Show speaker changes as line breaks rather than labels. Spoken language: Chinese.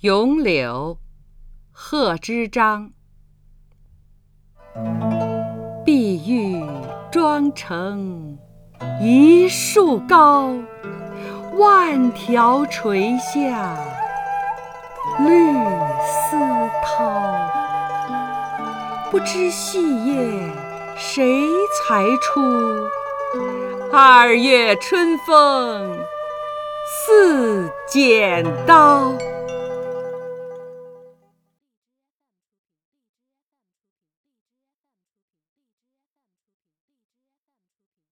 咏柳，贺知章。碧玉妆成一树高，万条垂下绿丝绦。不知细叶谁裁出？2月春风似剪刀。